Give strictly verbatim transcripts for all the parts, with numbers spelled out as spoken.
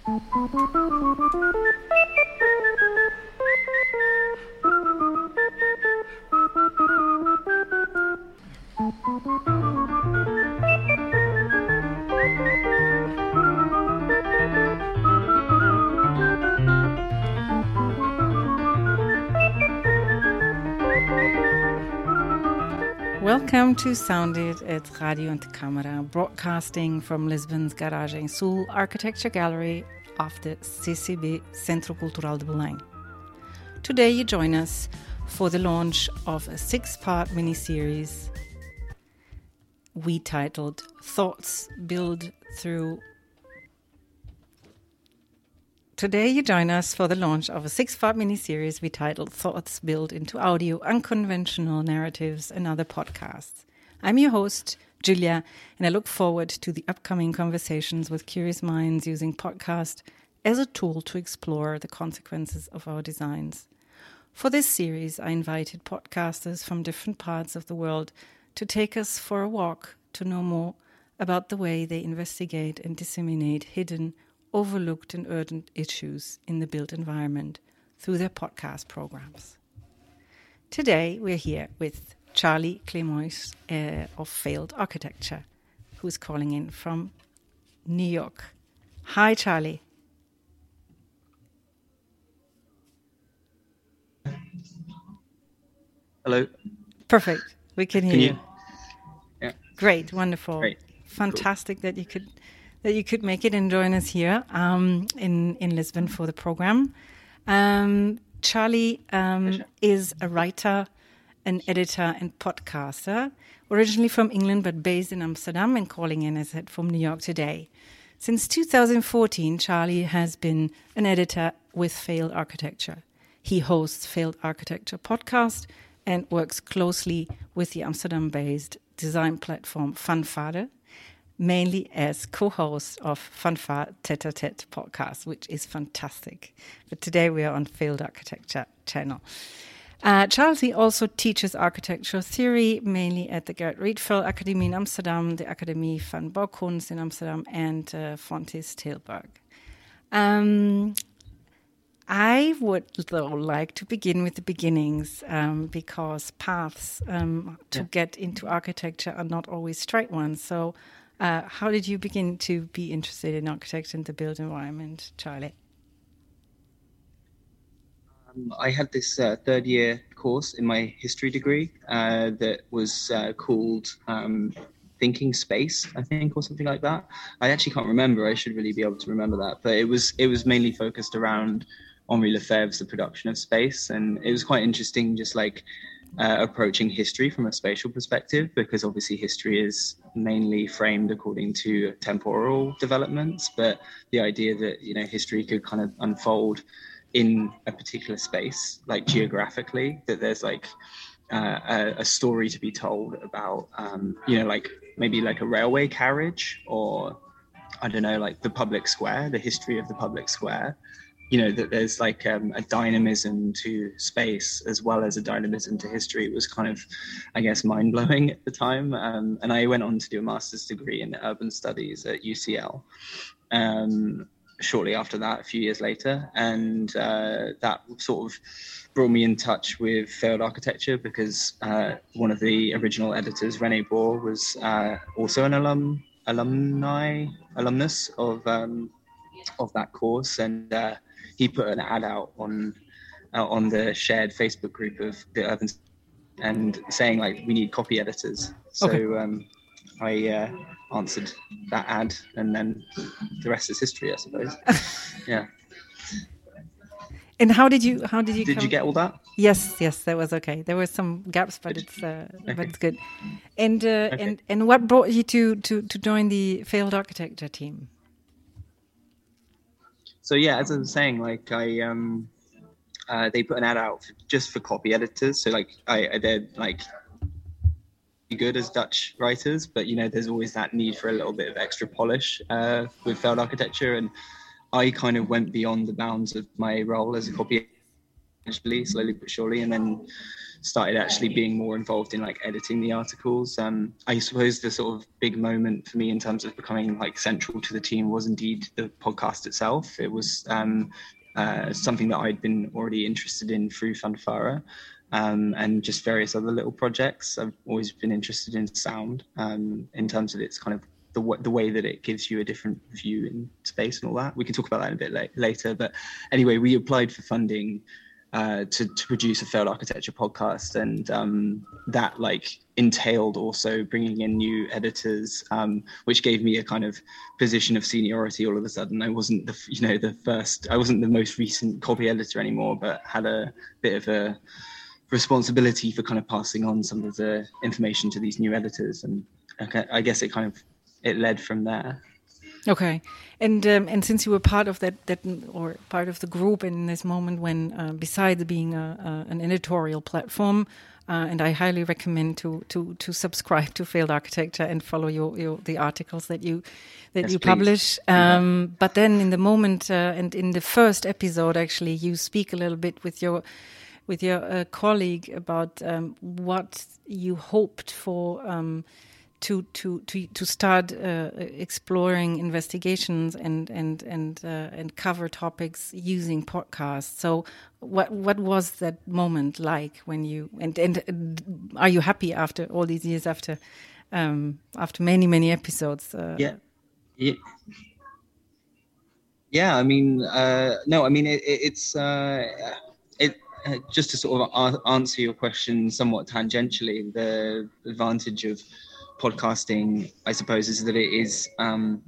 Welcome to Sounded at Radio und Câmara, broadcasting from Lisbon's Garage em Sul Architecture Gallery of the C C B Centro Cultural de Belém. Today you join us for the launch of a six-part mini-series we titled Thoughts Build Through Today you join us for the launch of a six-part mini-series we titled Thoughts Built into Audio, Unconventional Narratives and Other Podcasts. I'm your host, Julia, and I look forward to the upcoming conversations with curious minds using podcast as a tool to explore the consequences of our designs. For this series, I invited podcasters from different parts of the world to take us for a walk to know more about the way they investigate and disseminate hidden, overlooked and urgent issues in the built environment through their podcast programs. Today we're here with Charlie Clémois uh, of Failed Architecture, who is calling in from New York. Hi, Charlie. Hello. Perfect. We can hear can you. you. Yeah. Great. Wonderful. Great. Fantastic cool. that you could that you could make it and join us here um, in, in Lisbon for the program. Um, Charlie um, is a writer, an editor and podcaster, originally from England but based in Amsterdam and calling in, as I said, from New York today. Since two thousand fourteen, Charlie has been an editor with Failed Architecture. He hosts Failed Architecture podcast and works closely with the Amsterdam-based design platform Fanfare, mainly as co-host of Fanfare Tête-à-Tête podcast, which is fantastic. But today we are on Failed Architecture channel. Uh, Charlie also teaches architectural theory, mainly at the Gerrit Rietveld Academy in Amsterdam, the Academie van Bouwkunst in Amsterdam, and uh, Fontys Tilburg. Um, I would, though, like to begin with the beginnings um, because paths um, to yeah. get into architecture are not always straight ones. So Uh, how did you begin to be interested in architecture and the built environment, Charlie? Um, I had this uh, third year course in my history degree uh, that was uh, called um, Thinking Space, I think, or something like that. I actually can't remember. I should really be able to remember that. But it was it was mainly focused around Henri Lefebvre's The Production of Space. And it was quite interesting, just like Uh, approaching history from a spatial perspective, because obviously history is mainly framed according to temporal developments, but the idea that, you know, history could kind of unfold in a particular space, like geographically, that there's like uh, a, a story to be told about, um, you know, like maybe like a railway carriage, or I don't know, like the public square, the history of the public square. You know, that there's like um, a dynamism to space as well as a dynamism to history. It was kind of, I guess, mind-blowing at the time. Um, and I went on to do a master's degree in urban studies at U C L um, shortly after that, a few years later. And uh, that sort of brought me in touch with Failed Architecture, because uh, one of the original editors, René Bohr, was uh, also an alum, alumni, alumnus of um, of that course. And uh, he put an ad out on uh, on the shared Facebook group of the urban, and saying like, we need copy editors. So okay. um, I uh, answered that ad, and then the rest is history, I suppose. Yeah. And how did you? How did you? Did come... you get all that? Yes, yes, that was okay. There were some gaps, but it's uh, okay. but it's good. And uh, okay. and and what brought you to to to join the Failed Architecture team? So yeah, as I was saying, like I, um, uh, they put an ad out for, just for copy editors. So like I, I did like good as Dutch writers, but you know, there's always that need for a little bit of extra polish uh, with Failed Architecture, and I kind of went beyond the bounds of my role as a copy editor, slowly but surely, and then started actually being more involved in like editing the articles. Um, I suppose the sort of big moment for me in terms of becoming like central to the team was indeed the podcast itself. It was um, uh, something that I'd been already interested in through Fanfara. Um, and just various other little projects. I've always been interested in sound um, in terms of its kind of the, w- the way that it gives you a different view in space and all that. We can talk about that in a bit la- later. But anyway, we applied for funding uh, to, to produce a failed architecture podcast, and um, that like entailed also bringing in new editors, um, which gave me a kind of position of seniority all of a sudden. I wasn't the you know the first, I wasn't the most recent copy editor anymore, but had a bit of a responsibility for kind of passing on some of the information to these new editors, and okay, I guess it kind of it led from there. Okay, and um, and since you were part of that that or part of the group in this moment when uh, besides being a, a, an editorial platform, uh, and I highly recommend to to to subscribe to Failed Architecture and follow your, your the articles that you that yes, you please. publish. Um, but then in the moment uh, and in the first episode, actually, you speak a little bit with your with your uh, colleague about um, what you hoped for um, to to to to start uh, exploring investigations and and and uh, and cover topics using podcasts. So what what was that moment like when you and and are you happy after all these years, after um, after many many episodes? Uh, yeah, yeah. Yeah, I mean, uh, no, I mean it, it, it's uh, it. Uh, just to sort of a- answer your question somewhat tangentially, the advantage of podcasting, I suppose, is that it is um,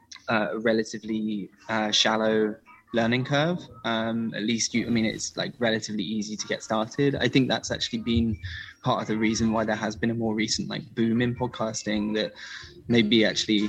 a relatively uh, shallow learning curve. Um, at least, you, I mean, it's like relatively easy to get started. I think that's actually been part of the reason why there has been a more recent like boom in podcasting that maybe actually,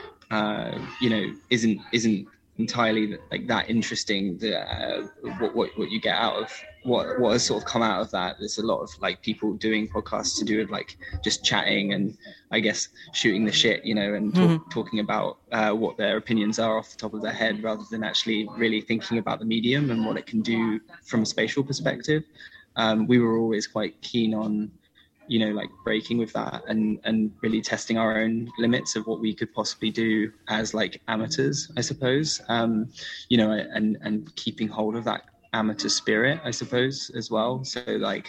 uh, you know, isn't isn't entirely like that interesting. The, uh, what, what what you get out of what what has sort of come out of that. There's a lot of like people doing podcasts to do with like just chatting and I guess shooting the shit, you know, and talk, mm-hmm. talking about uh, what their opinions are off the top of their head, rather than actually really thinking about the medium and what it can do from a spatial perspective. Um, we were always quite keen on, you know, like breaking with that and and really testing our own limits of what we could possibly do as like amateurs, I suppose. Um, you know, and and keeping hold of that amateur spirit, I suppose, as well. So like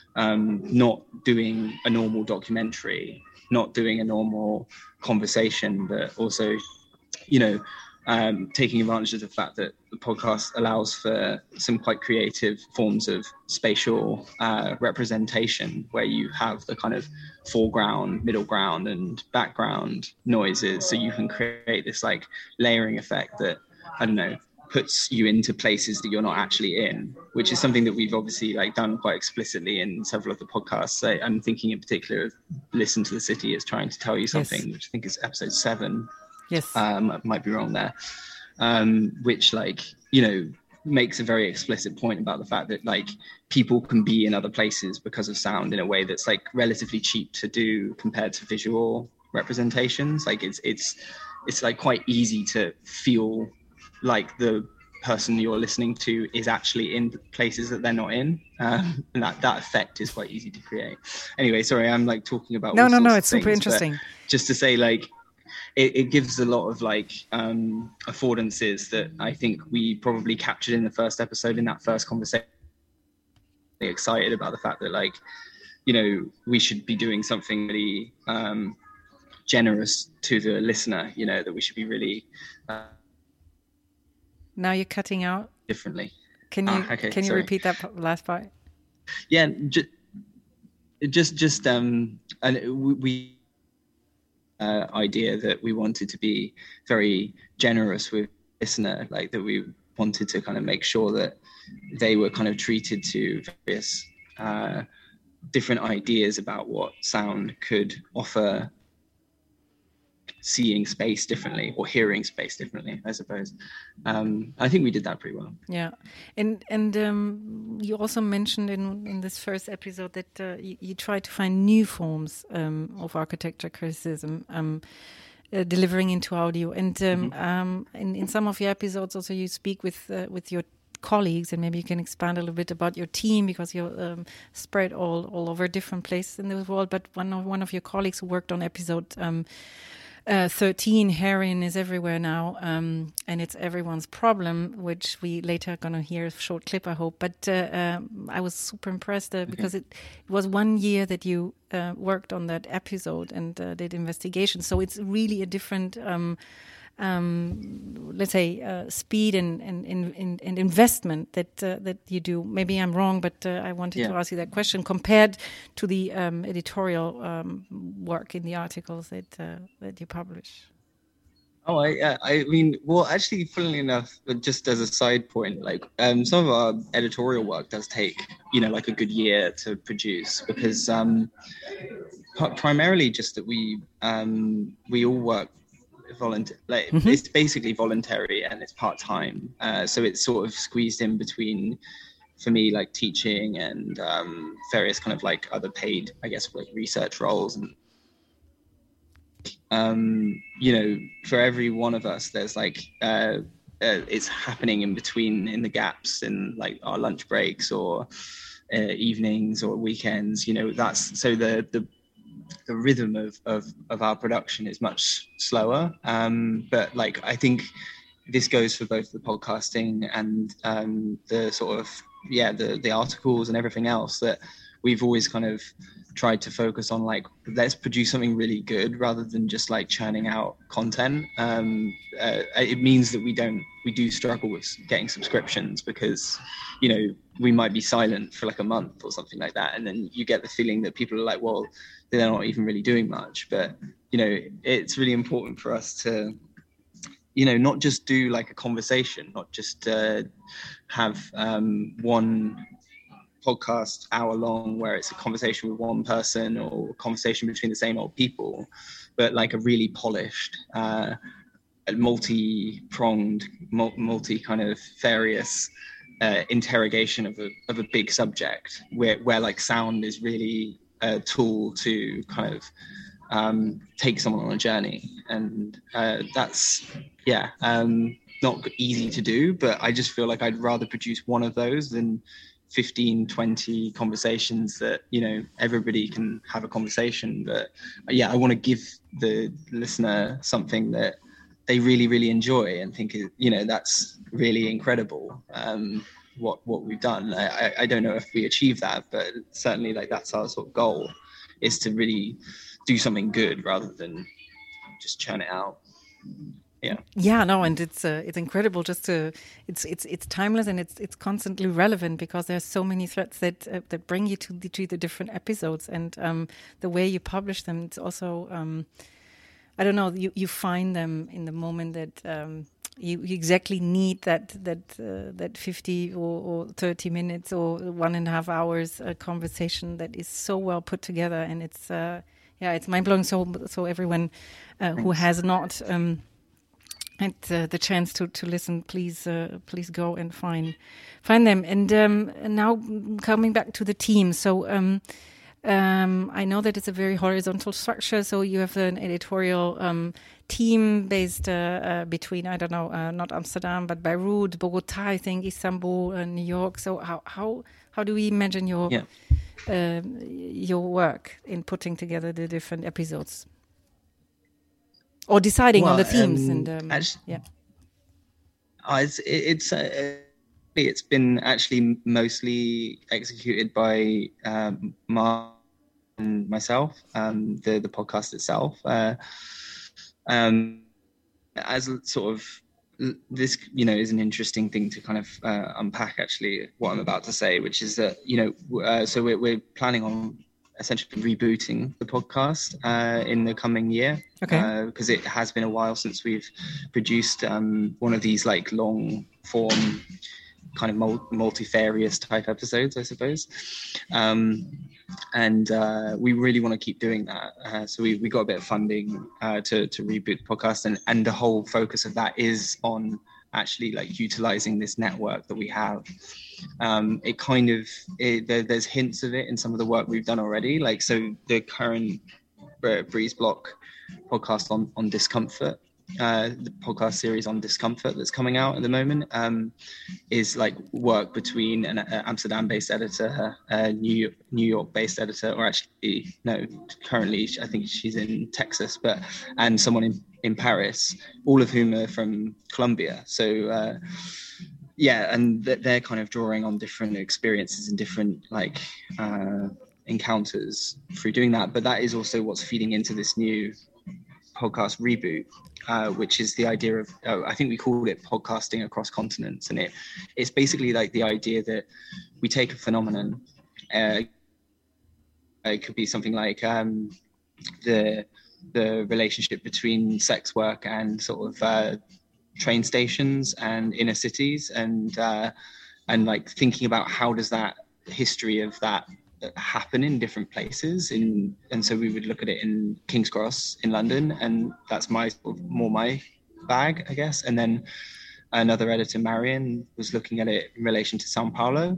um, not doing a normal documentary, not doing a normal conversation, but also, you know, um, taking advantage of the fact that the podcast allows for some quite creative forms of spatial uh, representation, where you have the kind of foreground, middle ground, and background noises, so you can create this like layering effect that, I don't know, puts you into places that you're not actually in, which is something that we've obviously like done quite explicitly in several of the podcasts. I, I'm thinking in particular of Listen to the City is Trying to Tell You Something, yes. which I think is episode seven. Yes. Um, I might be wrong there. Um, which like, you know, makes a very explicit point about the fact that like people can be in other places because of sound in a way that's like relatively cheap to do compared to visual representations. Like it's, it's, it's like quite easy to feel like the person you're listening to is actually in places that they're not in, um, and that that effect is quite easy to create. Anyway, sorry, I'm like talking about no all no sorts no of it's things, super interesting. Just to say, like it, it gives a lot of like um affordances that I think we probably captured in the first episode, in that first conversation. Really excited about the fact that like, you know, we should be doing something really um generous to the listener, you know, that we should be really uh, Now you're cutting out differently. Can you ah, okay, can you sorry. repeat that last part? Yeah, just just just um, and we uh, idea that we wanted to be very generous with listener, like that we wanted to kind of make sure that they were kind of treated to various uh, different ideas about what sound could offer. Seeing space differently or hearing space differently, I suppose. Um, I think we did that pretty well. Yeah, and and um, you also mentioned in in this first episode that uh, you, you try to find new forms um, of architecture criticism, um, uh, delivering into audio. And um, mm-hmm. um, in in some of your episodes, also you speak with uh, with your colleagues, and maybe you can expand a little bit about your team, because you're um, spread all, all over different places in the world. But one of one of your colleagues who worked on episode um, uh, thirteen, heroin is everywhere now, um, and it's everyone's problem, which we later are going to hear a short clip, I hope. But uh, um, I was super impressed uh, because it, it was one year that you uh, worked on that episode and uh, did investigation. So it's really a different... Um, Um, let's say uh, speed and, and, and, and investment that uh, that you do. Maybe I'm wrong, but uh, I wanted yeah. to ask you that question compared to the um, editorial um, work in the articles that uh, that you publish. Oh, I, yeah, I mean, well, actually, funnily enough, just as a side point, like um, some of our editorial work does take, you know, like a good year to produce, because um, primarily just that we um, we all work volunteer, like mm-hmm. It's basically voluntary and it's part-time, uh, so it's sort of squeezed in between, for me, like teaching and um, various kind of like other paid, I guess, like research roles. And um, you know, for every one of us, there's like uh, uh, it's happening in between, in the gaps in like our lunch breaks or uh, evenings or weekends. You know, that's so the the the rhythm of, of, of our production is much slower. Um, but like, I think this goes for both the podcasting and um, the sort of, yeah, the, the articles and everything else, that we've always kind of tried to focus on, like, let's produce something really good rather than just like churning out content. Um, uh, it means that we don't, we do struggle with getting subscriptions, because, you know, we might be silent for like a month or something like that. And then you get the feeling that people are like, well, they're not even really doing much. But, you know, it's really important for us to, you know, not just do like a conversation, not just uh, have um, one podcast hour long where it's a conversation with one person or a conversation between the same old people, but like a really polished, uh, multi-pronged, multi kind of various uh, interrogation of a of a big subject, where where like sound is really a tool to kind of um, take someone on a journey. And uh, that's, yeah, um, not easy to do, but I just feel like I'd rather produce one of those than fifteen, twenty conversations that, you know, everybody can have a conversation. But yeah, I want to give the listener something that they really, really enjoy and think, you know, that's really incredible. Um, what what we've done. I, I don't know if we achieve that, but certainly like that's our sort of goal, is to really do something good rather than just churn it out. Yeah. Yeah, no, and it's uh, it's incredible. Just to it's it's it's timeless, and it's it's constantly relevant, because there's so many threads that uh, that bring you to the to the different episodes, and um, the way you publish them. It's also um, I don't know. You you find them in the moment that um, you, you exactly need that that uh, that fifty or, or thirty minutes or one and a half hours uh, conversation that is so well put together, and it's uh, yeah, it's mind blowing. So so everyone uh, who has not um, had uh, the chance to to listen, please uh, please go and find find them. And um, now coming back to the team, so. Um, Um, I know that it's a very horizontal structure, so you have an editorial um, team based uh, uh, between, I don't know, uh, not Amsterdam, but Beirut, Bogota, I think, Istanbul, uh, New York. So how how how do we imagine your yeah. uh, your work in putting together the different episodes, or deciding well, on the themes? Um, and um, actually, yeah, uh, it's it's. Uh, It's been actually mostly executed by um, Mark and myself, um, the the podcast itself. Uh, um, as a sort of this, you know, is an interesting thing to kind of uh, unpack. Actually, what I'm about to say, which is that, you know, uh, so we're we're planning on essentially rebooting the podcast uh, in the coming year. okay, Because uh, it has been a while since we've produced um, one of these like long form, kind of multifarious type episodes, I suppose. Um, and uh, we really want to keep doing that. Uh, so we, we got a bit of funding uh, to, to reboot the podcast. And, and the whole focus of that is on actually like utilizing this network that we have. Um, it kind of, it, there, there's hints of it in some of the work we've done already. Like, so the current Breeze Block podcast on, on discomfort, uh, the podcast series on discomfort that's coming out at the moment um, is like work between an uh, Amsterdam-based editor, a New York, New York-based editor, or actually no, currently I think she's in Texas, but and someone in, in Paris, all of whom are from Columbia. So uh, yeah, and they're kind of drawing on different experiences and different like uh, encounters through doing that. But that is also what's feeding into this new podcast reboot. Uh, which is the idea of, oh, I think we called it podcasting across continents. And it it's basically like the idea that we take a phenomenon, uh, it could be something like um, the the relationship between sex work and sort of uh, train stations and inner cities, and uh, and like thinking about how does that history of that happen in different places in and so we would look at it in King's Cross in London, and that's my sort of more my bag, I guess. And then another editor, Marion, was looking at it in relation to Sao Paulo.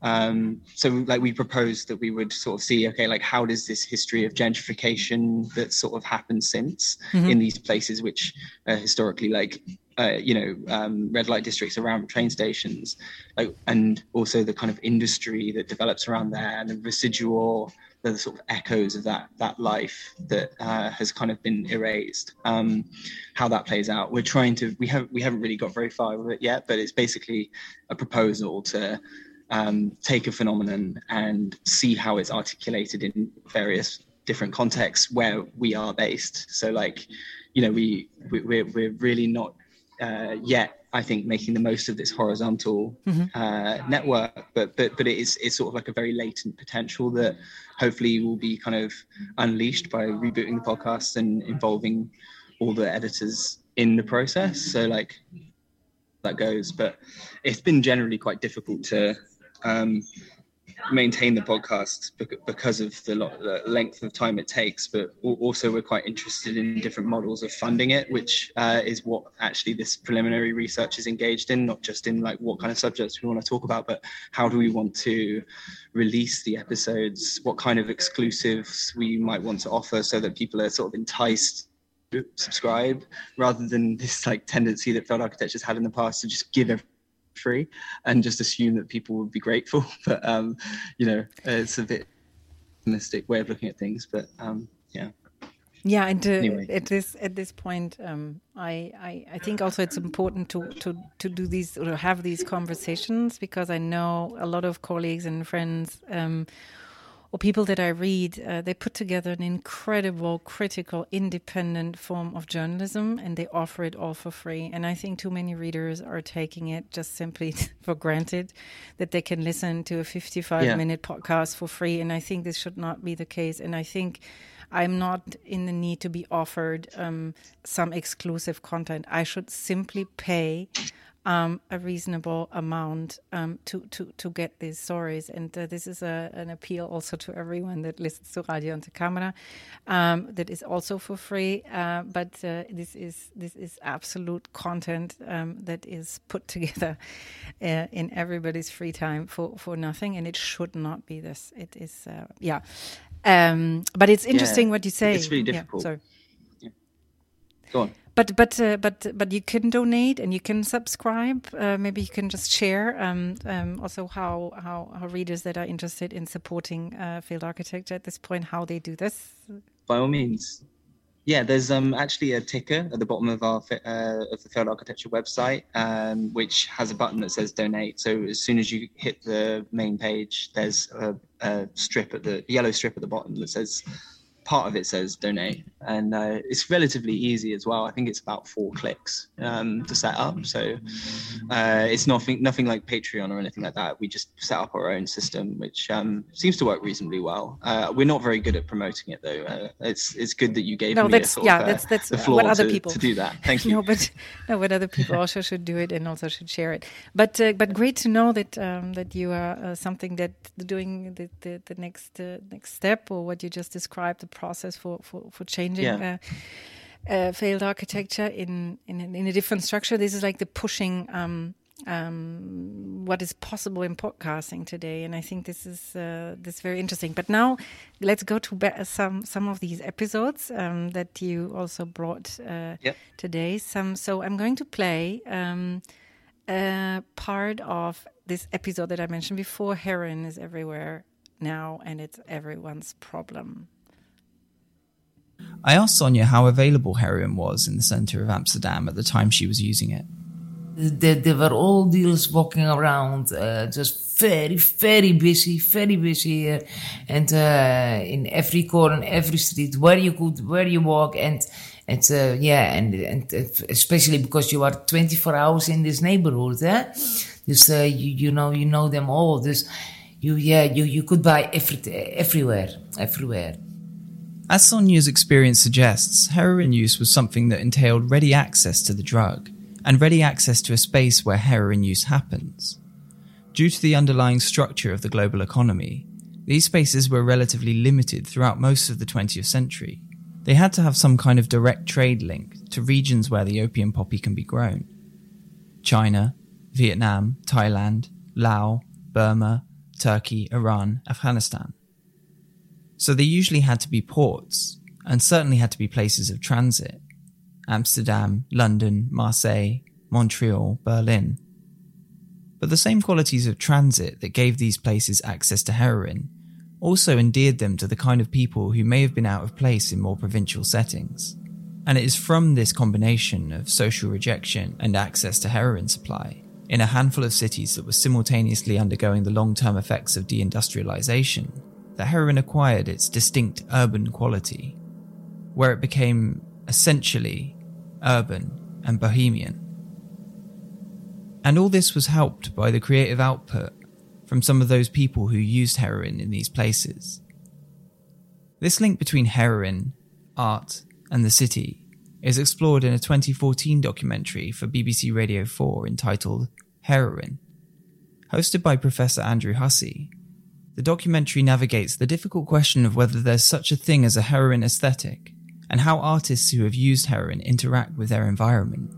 Um, so like we proposed that we would sort of see, okay, like how does this history of gentrification that sort of happened since mm-hmm. in these places which uh, historically like Uh, you know, um, red light districts around train stations, like, and also the kind of industry that develops around there, and the residual, the sort of echoes of that that life that uh, has kind of been erased. Um, how that plays out, we're trying to. We have we haven't really got very far with it yet, but it's basically a proposal to um, take a phenomenon and see how it's articulated in various different contexts where we are based. So, like, you know, we, we we're we're really not. Uh, yet, I think making the most of this horizontal mm-hmm. uh, network, but but but it is it's sort of like a very latent potential that hopefully will be kind of unleashed by rebooting the podcast and involving all the editors in the process. So like that goes, but it's been generally quite difficult to um, maintain the podcast because of the, lot, the length of time it takes, but also we're quite interested in different models of funding it, which uh, is what actually this preliminary research is engaged in, not just in like what kind of subjects we want to talk about, but how do we want to release the episodes, what kind of exclusives we might want to offer so that people are sort of enticed to subscribe, rather than this like tendency that Failed Architecture's had in the past to just give everything free and just assume that people would be grateful. But um you know, it's a bit optimistic way of looking at things, but um yeah yeah and uh, anyway. at this at this point um I, I I think also it's important to to to do these or have these conversations, because I know a lot of colleagues and friends um or people that I read, uh, they put together an incredible, critical, independent form of journalism, and they offer it all for free. And I think too many readers are taking it just simply for granted, that they can listen to a fifty-five minute yeah. podcast for free. And I think this should not be the case. And I think I'm not in the need to be offered um, some exclusive content. I should simply pay Um, a reasonable amount um, to, to, to get these stories. And uh, this is a, an appeal also to everyone that listens to Radio Ante Camera. Um, that is also for free, uh, but uh, this is this is absolute content um, that is put together uh, in everybody's free time for, for nothing, and it should not be this. It is, uh, yeah. Um, but it's interesting yeah, what you say. It's really difficult. Yeah, sorry. Yeah. Go on. But but uh, but but you can donate and you can subscribe. Uh, maybe you can just share um, um, also how, how how readers that are interested in supporting uh, Failed Architecture at this point, how they do this. By all means, yeah. There's um actually a ticker at the bottom of our uh, of the Failed Architecture website, um, which has a button that says donate. So as soon as you hit the main page, there's a, a strip at the yellow strip at the bottom that says. Part of it says donate, and uh, it's relatively easy as well. I think it's about four clicks um, to set up. So uh, it's nothing nothing like Patreon or anything like that. We just set up our own system, which um, seems to work reasonably well. Uh, we're not very good at promoting it, though. Uh, it's it's good that you gave no, me that's, a sort yeah, of, uh, that's, that's the floor what other to, people to do that. Thank you. no, but no, but other people also should do it and also should share it. But uh, but great to know that um, that you are uh, something that doing the the, the next uh, next step, or what you just described, the process for for for changing yeah. uh, uh, Failed Architecture in, in in a different structure. This is like the pushing um, um, what is possible in podcasting today. And I think this is uh, this is very interesting. But now let's go to be- some some of these episodes um, that you also brought uh, yep. today. Some so I'm going to play um, a part of this episode that I mentioned before. Heroin is everywhere now, and it's everyone's problem. I asked Sonja how available heroin was in the centre of Amsterdam at the time she was using it. There, there were all dealers walking around, uh, just very, very busy, very busy here. And uh, in every corner, every street, where you could, where you walk. And, and uh, yeah, and, and especially because you are twenty-four hours in this neighborhood, eh? Just, uh, you, you know, you know them all. Just, you, yeah, you, you could buy every, everywhere, everywhere. As Sonja's experience suggests, heroin use was something that entailed ready access to the drug, and ready access to a space where heroin use happens. Due to the underlying structure of the global economy, these spaces were relatively limited throughout most of the twentieth century. They had to have some kind of direct trade link to regions where the opium poppy can be grown. China, Vietnam, Thailand, Laos, Burma, Turkey, Iran, Afghanistan. So they usually had to be ports, and certainly had to be places of transit. Amsterdam, London, Marseille, Montreal, Berlin. But the same qualities of transit that gave these places access to heroin also endeared them to the kind of people who may have been out of place in more provincial settings. And it is from this combination of social rejection and access to heroin supply in a handful of cities that were simultaneously undergoing the long-term effects of deindustrialization that heroin acquired its distinct urban quality, where it became essentially urban and bohemian. And all this was helped by the creative output from some of those people who used heroin in these places. This link between heroin, art, and the city is explored in a twenty fourteen documentary for B B C Radio four entitled Heroin. Hosted by Professor Andrew Hussey, the documentary navigates the difficult question of whether there's such a thing as a heroin aesthetic, and how artists who have used heroin interact with their environment.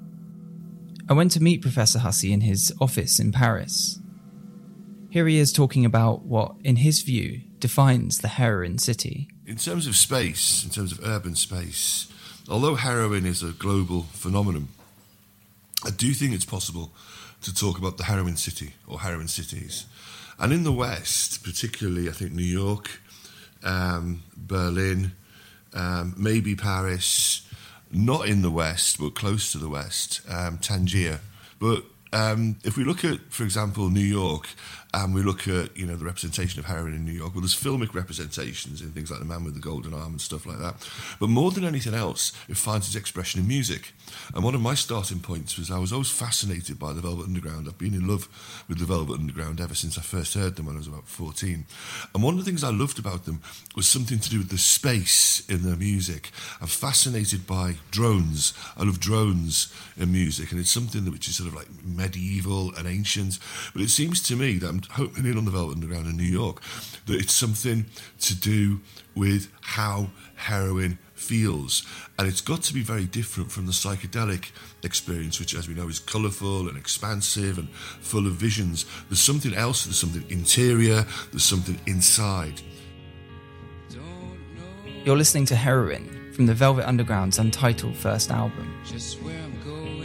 I went to meet Professor Hussey in his office in Paris. Here he is talking about what, in his view, defines the heroin city. In terms of space, in terms of urban space, although heroin is a global phenomenon, I do think it's possible to talk about the heroin city or heroin cities. And in the West, particularly, I think New York, um, Berlin, um, maybe Paris, not in the West, but close to the West, um, Tangier. But um, if we look at, for example, New York, and we look at, you know, the representation of heroin in New York, well, there's filmic representations in things like The Man with the Golden Arm and stuff like that. But more than anything else, it finds its expression in music. And one of my starting points was I was always fascinated by the Velvet Underground. I've been in love with the Velvet Underground ever since I first heard them when I was about fourteen. And one of the things I loved about them was something to do with the space in their music. I'm fascinated by drones. I love drones in music, and it's something that which is sort of like medieval and ancient. But it seems to me that I'm hoping in on the Velvet Underground in New York that it's something to do with how heroin feels, and it's got to be very different from the psychedelic experience, which, as we know, is colourful and expansive and full of visions. There's something else, there's something interior, there's something inside. You're listening to Heroin from the Velvet Underground's untitled first album. Just where I'm going.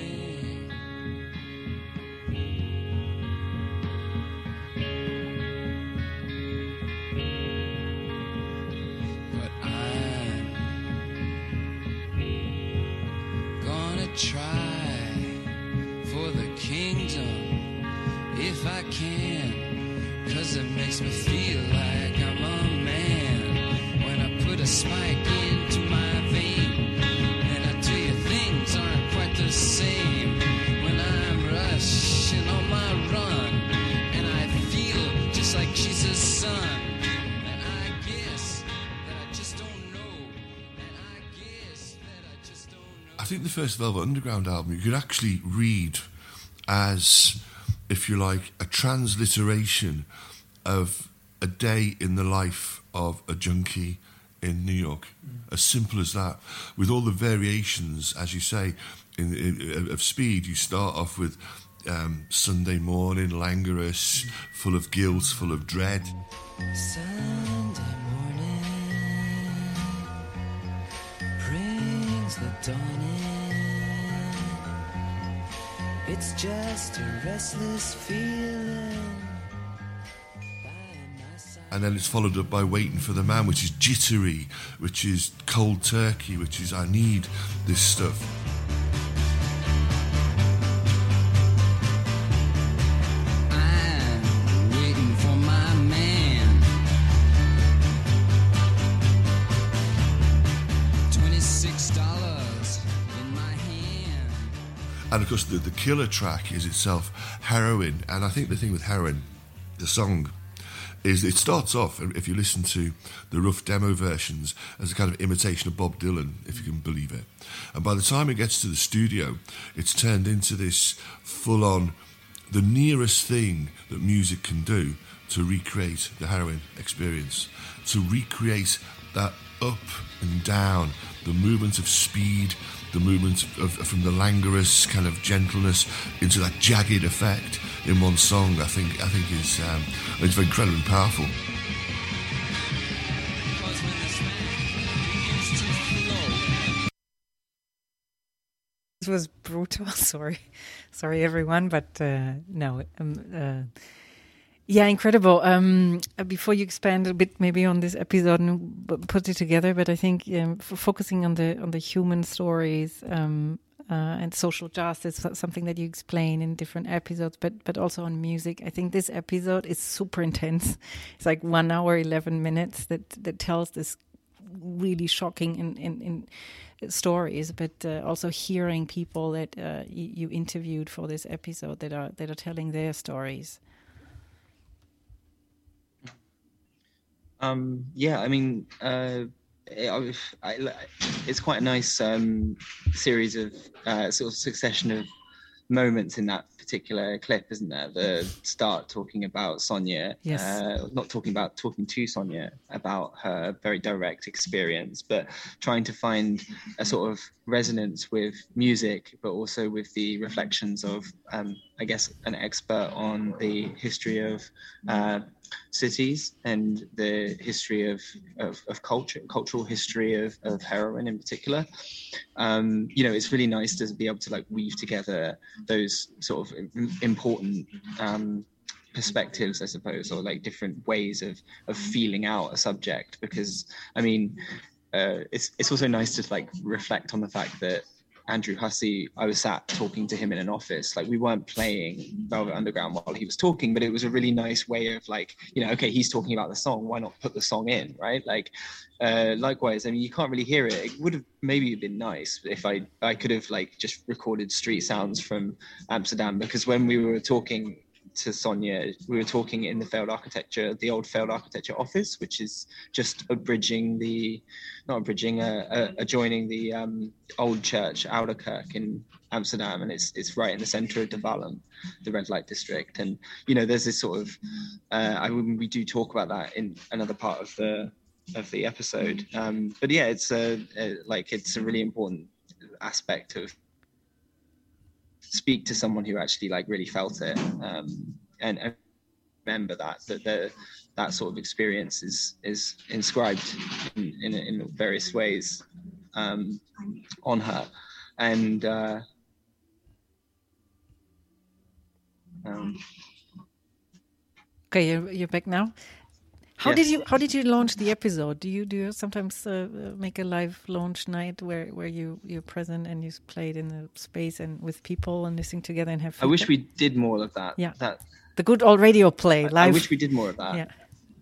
Try for the kingdom if I can, 'cause it makes me feel like I'm a man when I put a spike into my vein. And I tell you, things aren't quite the same when I'm rushing on my run, and I feel just like Jesus' son. And I guess that I just don't know, and I guess that I just don't know. I think the first Velvet Underground album you could actually read as, if you like, a transliteration of a day in the life of a junkie in New York. Mm. As simple as that, with all the variations, as you say, in, in, of speed. You start off with um, Sunday morning, languorous, full of guilt, full of dread. Sunday morning brings the dawn in. It's just a restless feeling. And then it's followed up by Waiting for the Man, which is jittery, which is cold turkey, which is I need this stuff. I'm waiting for my man. twenty-six dollars in my hand. And of course, the, the killer track is itself Heroin. And I think the thing with Heroin, the song, is it starts off, if you listen to the rough demo versions, as a kind of imitation of Bob Dylan, if you can believe it. And by the time it gets to the studio, it's turned into this full-on, the nearest thing that music can do to recreate the Heroin experience, to recreate that up and down, the movement of speed, the movement of, of, from the languorous kind of gentleness into that jagged effect in one song. I think I think is um, it's incredibly powerful. This was brutal. Sorry, sorry everyone, but uh, no, um, uh, yeah, incredible. Um, before you expand a bit, maybe on this episode and b- put it together, but I think um, f- focusing on the on the human stories um, uh, and social justice, something that you explain in different episodes, but but also on music. I think this episode is super intense. It's like one hour, eleven minutes that that tells this really shocking in in. in stories, but uh, also hearing people that uh, y- you interviewed for this episode that are that are telling their stories. Um, yeah, I mean, uh, I, I, it's quite a nice um, series of uh, sort of succession of moments in that particular clip, isn't there? The start talking about Sonia, yes. uh, not talking about talking to Sonia about her very direct experience, but trying to find a sort of resonance with music, but also with the reflections of, um, I guess, an expert on the history of uh, cities and the history of, of, of culture, cultural history of, of heroin in particular. Um, you know, it's really nice to be able to like weave together those sort of important um, perspectives, I suppose, or like different ways of of feeling out a subject. Because I mean, uh, it's it's also nice to like reflect on the fact that Andrew Hussey, I was sat talking to him in an office. Like we weren't playing Velvet Underground while he was talking, but it was a really nice way of like, you know, okay, he's talking about the song, why not put the song in, right? Like, uh, likewise, I mean, you can't really hear it. It would have maybe been nice if I I could have like just recorded street sounds from Amsterdam, because when we were talking to Sonia, we were talking in the failed architecture, the old failed architecture office, which is just abridging the, not abridging, uh, uh, adjoining the um, old church, Ouderkerk in Amsterdam, and it's it's right in the center of De Wallen, the red light district. And you know, there's this sort of, uh, I mean, we do talk about that in another part of the of the episode. Um, but yeah, it's a, a like it's a really important aspect of speak to someone who actually like really felt it, um, and, and remember that that the, that sort of experience is is inscribed in, in, in various ways um, on her. And uh, um, okay, you're, you're back now. How yes. did you how did you launch the episode? Do you do you sometimes uh, make a live launch night where, where you you're present and you played in the space and with people and listening together and have feedback? I wish we did more of that. Yeah, that the good old radio play I, live. I wish we did more of that. Yeah.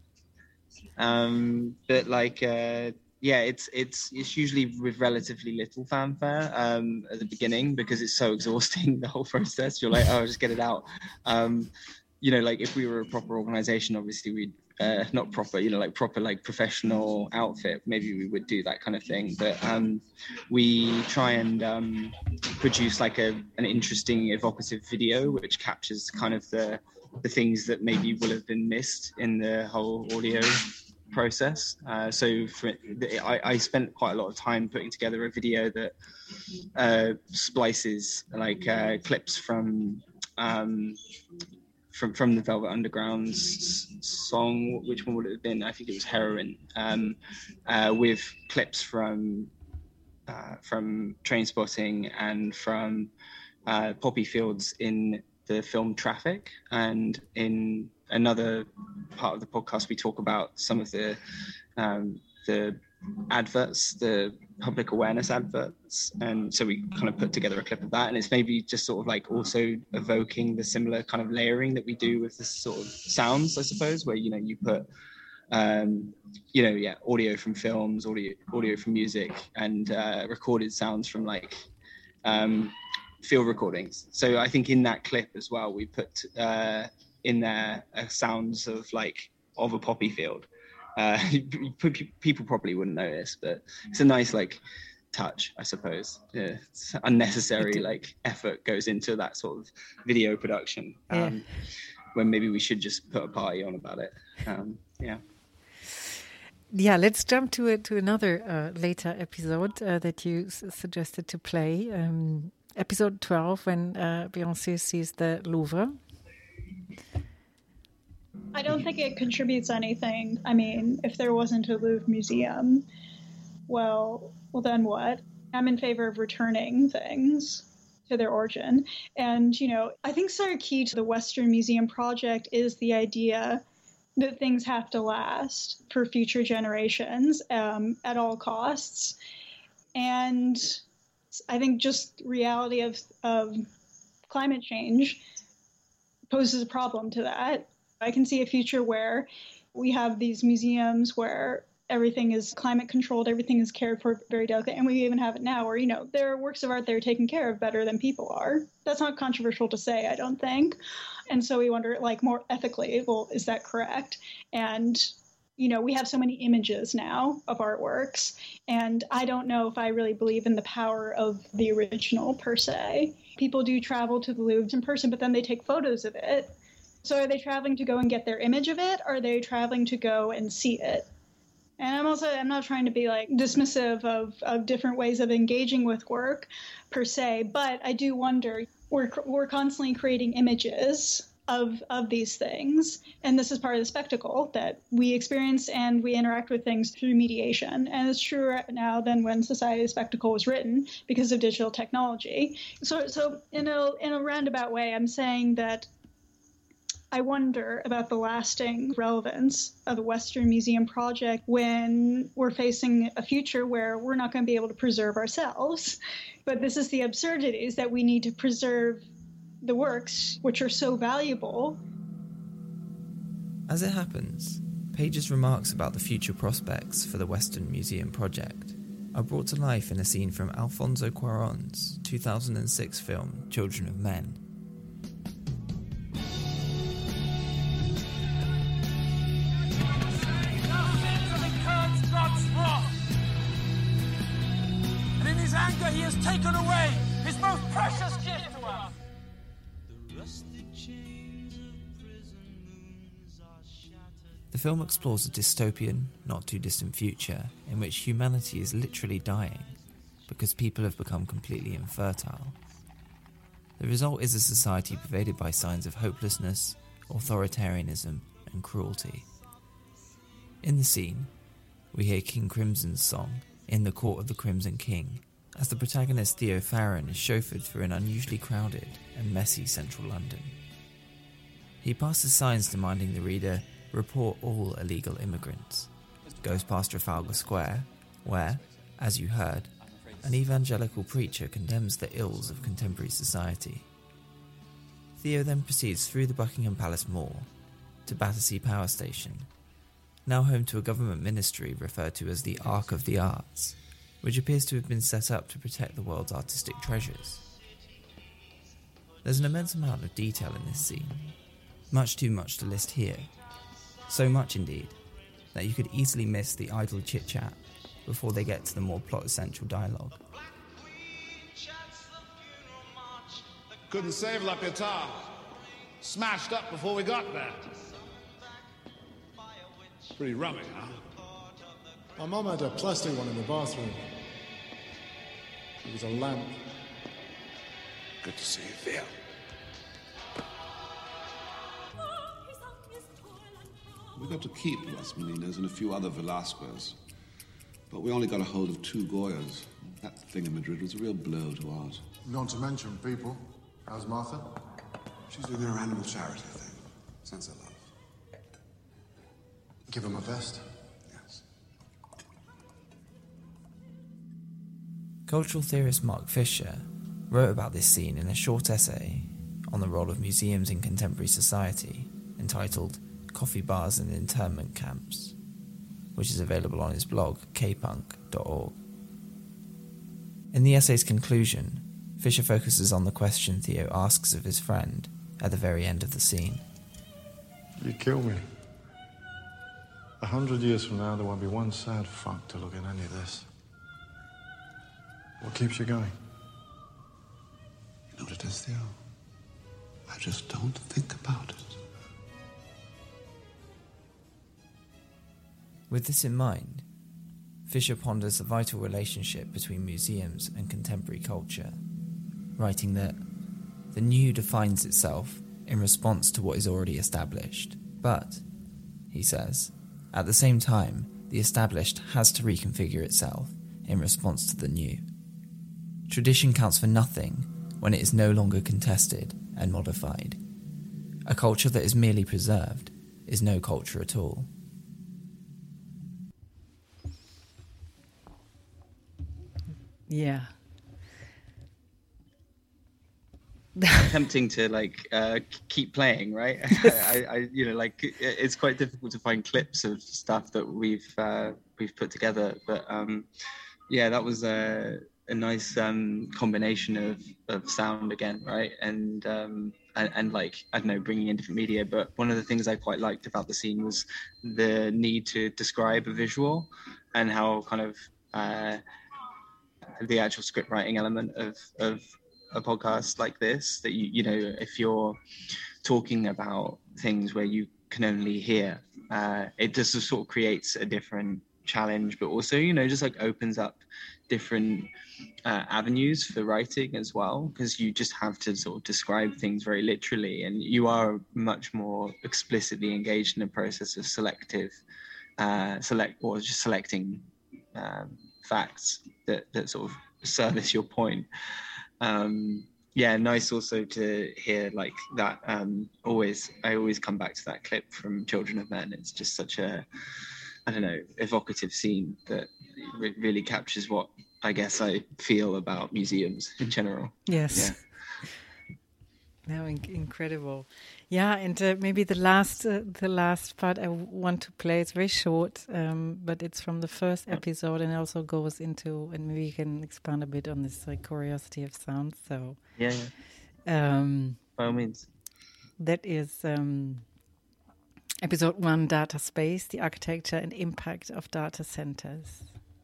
Um, but like, uh, yeah, it's it's it's usually with relatively little fanfare um, at the beginning, because it's so exhausting, the whole process. You're like, oh, just get it out. Um, you know, like if we were a proper organization, obviously we'd uh, not proper, you know, like proper like professional outfit, maybe we would do that kind of thing. But um, we try and um, produce like a an interesting, evocative video which captures kind of the the things that maybe will have been missed in the whole audio process. Uh, so for, I, I spent quite a lot of time putting together a video that uh, splices like uh, clips from um, from from the Velvet Underground's song. Which one would it have been? I think it was Heroin, um, uh, with clips from uh, from Trainspotting and from uh, poppy fields in the film Traffic. And in another part of the podcast, we talk about some of the um, the adverts, the public awareness adverts, and so we kind of put together a clip of that, and it's maybe just sort of like also evoking the similar kind of layering that we do with this sort of sounds, I suppose, where, you know, you put um you know yeah audio from films, audio audio from music, and uh recorded sounds from like um field recordings. So I think in that clip as well, we put uh in there uh, sounds of like of a poppy field. Uh, people probably wouldn't notice, but it's a nice like touch, I suppose. Yeah, it's unnecessary like effort goes into that sort of video production, um, yeah. when maybe we should just put a party on about it. Um, yeah. Yeah, let's jump to it to another uh, later episode uh, that you s- suggested to play, um, episode twelve, when uh, Beyoncé sees the Louvre. I don't think it contributes anything. I mean, if there wasn't a Louvre museum, well, well, then what? I'm in favor of returning things to their origin. And, you know, I think sort of key to the Western Museum project is the idea that things have to last for future generations um, at all costs. And I think just reality of, of climate change poses a problem to that. I can see a future where we have these museums where everything is climate controlled, everything is cared for very delicately, and we even have it now where, you know, there are works of art that are taken care of better than people are. That's not controversial to say, I don't think. And so we wonder, like, more ethically, well, is that correct? And, you know, we have so many images now of artworks, and I don't know if I really believe in the power of the original per se. People do travel to the Louvre in person, but then they take photos of it. So are they traveling to go and get their image of it, or are they traveling to go and see it? And I'm also, I'm not trying to be like dismissive of, of different ways of engaging with work per se, but I do wonder, we're we're constantly creating images of of these things. And this is part of the spectacle that we experience, and we interact with things through mediation. And it's truer now than when Society of Spectacle was written because of digital technology. So so in a in a roundabout way, I'm saying that I wonder about the lasting relevance of the Western Museum project when we're facing a future where we're not going to be able to preserve ourselves. But this is the absurdities that we need to preserve the works which are so valuable. As it happens, Page's remarks about the future prospects for the Western Museum project are brought to life in a scene from Alfonso Cuarón's two thousand six film Children of Men. He has taken away his most precious gift to us. The film explores a dystopian, not too distant future in which humanity is literally dying because people have become completely infertile. The result is a society pervaded by signs of hopelessness, authoritarianism, and cruelty. In the scene, we hear King Crimson's song, In the Court of the Crimson King, as the protagonist Theo Farron is chauffeured through an unusually crowded and messy central London. He passes signs demanding the reader report all illegal immigrants, goes past Trafalgar Square, where, as you heard, an evangelical preacher condemns the ills of contemporary society. Theo then proceeds through the Buckingham Palace Mall to Battersea Power Station, now home to a government ministry referred to as the Ark of the Arts, which appears to have been set up to protect the world's artistic treasures. There's an immense amount of detail in this scene, much too much to list here, so much indeed that you could easily miss the idle chit-chat before they get to the more plot-essential dialogue. Couldn't save La Pietà. Smashed up before we got there. Pretty rummy, huh? My mum had a plastic one in the bathroom. It was a lamp. Good to see you, Theo. We got to keep Las Meninas and a few other Velasquez. But we only got a hold of two Goyas. That thing in Madrid was a real blow to ours. Not to mention people. How's Martha? She's doing her animal charity thing. Sense of love. Give her my best. Yes. Cultural theorist Mark Fisher wrote about this scene in a short essay on the role of museums in contemporary society entitled Coffee Bars and Internment Camps, which is available on his blog k punk dot org. In the essay's conclusion, Fisher focuses on the question Theo asks of his friend at the very end of the scene. You kill me. A hundred years from now, there won't be one sad fuck to look at any of this. What keeps you going? You know what it is, Theo? I just don't think about it. With this in mind, Fisher ponders the vital relationship between museums and contemporary culture, writing that the new defines itself in response to what is already established, but, he says, at the same time, the established has to reconfigure itself in response to the new. Tradition counts for nothing when it is no longer contested and modified. A culture that is merely preserved is no culture at all. Yeah. Tempting to like uh, keep playing, right? I, I, you know, like it's quite difficult to find clips of stuff that we've uh, we've put together, but um, yeah, that was a, a nice um, combination of, of sound again, right? And, um, and and like I don't know, bringing in different media. But one of the things I quite liked about the scene was the need to describe a visual and how kind of uh, the actual script writing element of of a podcast like this, that you you know, if you're talking about things where you can only hear, uh it just sort of creates a different challenge, but also, you know, just like opens up different uh, avenues for writing as well, because you just have to sort of describe things very literally, and you are much more explicitly engaged in a process of selective uh select or just selecting um facts that that sort of service your point. Um, yeah, nice also to hear like that. Um, always, I always come back to that clip from Children of Men. It's just such a, I don't know, evocative scene that re- really captures what I guess I feel about museums in general. Yes. Yeah. No, in- incredible. Yeah, and uh, maybe the last, uh, the last part I w- want to play. It's very short, um, but it's from the first episode, and it also goes into, and maybe you can expand a bit on this like curiosity of sound. So, yeah, yeah. Um, by all means. That is um, episode one: Data Space, the architecture and impact of data centers.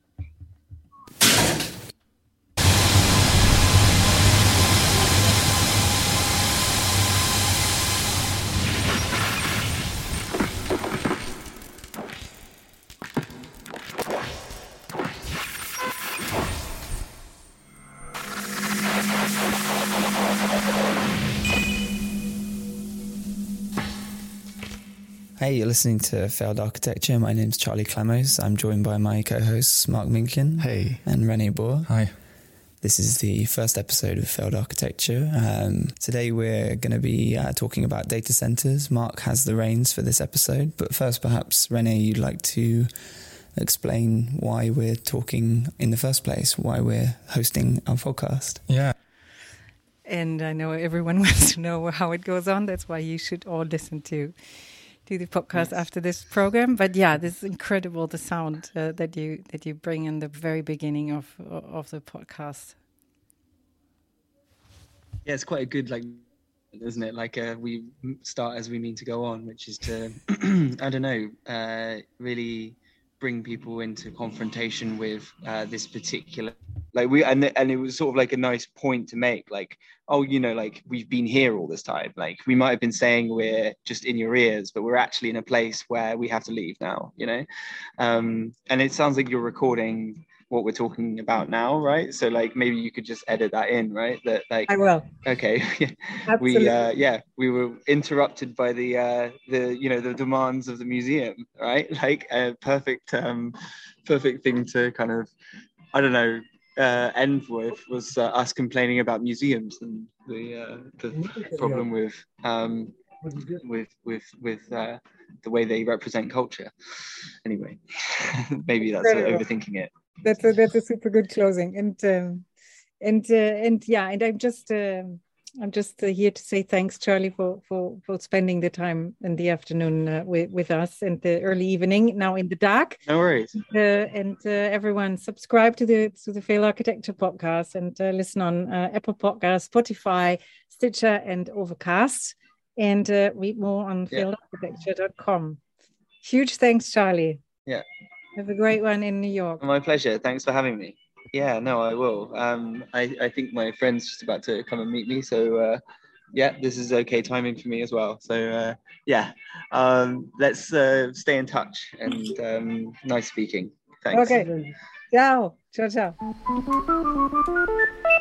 Hey, you're listening to Failed Architecture. My name's Charlie Clemos. I'm joined by my co-hosts Mark Minkin. Hey. And Rene Boer. Hi. This is the first episode of Failed Architecture. Um, today we're going to be uh, talking about data centers. Mark has the reins for this episode. But first, perhaps, Rene, you'd like to explain why we're talking in the first place, why we're hosting our podcast. Yeah. And I know everyone wants to know how it goes on. That's why you should all listen to to the podcast yes. after this program. But yeah, this is incredible, the sound uh, that you that you bring in the very beginning of of the podcast. Yeah, it's quite a good, like, isn't it? Like uh, we start as we mean to go on, which is to, I don't know, uh, really bring people into confrontation with uh, this particular, like we, and and it was sort of like a nice point to make, like, oh, you know, like we've been here all this time. Like we might have been saying we're just in your ears, but we're actually in a place where we have to leave now, you know? Um, and it sounds like you're recording what we're talking about now, right? So like maybe you could just edit that in, right? That like I will. Okay. we uh, yeah, we were interrupted by the uh, the you know the demands of the museum, right? Like a perfect um, perfect thing to kind of I don't know uh, end with was uh, us complaining about museums and the uh, the problem with um, with with with uh, the way they represent culture. Anyway, maybe that's overthinking it. That's a that's a super good closing, and um, and uh, and yeah, and I'm just uh, I'm just uh, here to say thanks, Charlie, for for for spending the time in the afternoon uh, with with us and the early evening now in the dark. No worries. Uh, and uh, everyone, subscribe to the to the Failed Architecture podcast and uh, listen on uh, Apple Podcasts, Spotify, Stitcher, and Overcast, and uh, read more on Yeah. failed architecture dot com. Huge thanks, Charlie. Yeah. Have a great one in New York. My pleasure. Thanks for having me. Yeah, no, I will. Um, I, I think my friend's just about to come and meet me. So, uh, yeah, this is okay timing for me as well. So, uh, yeah, um, let's uh, stay in touch and um, nice speaking. Thanks. Okay. Ciao. Ciao, ciao.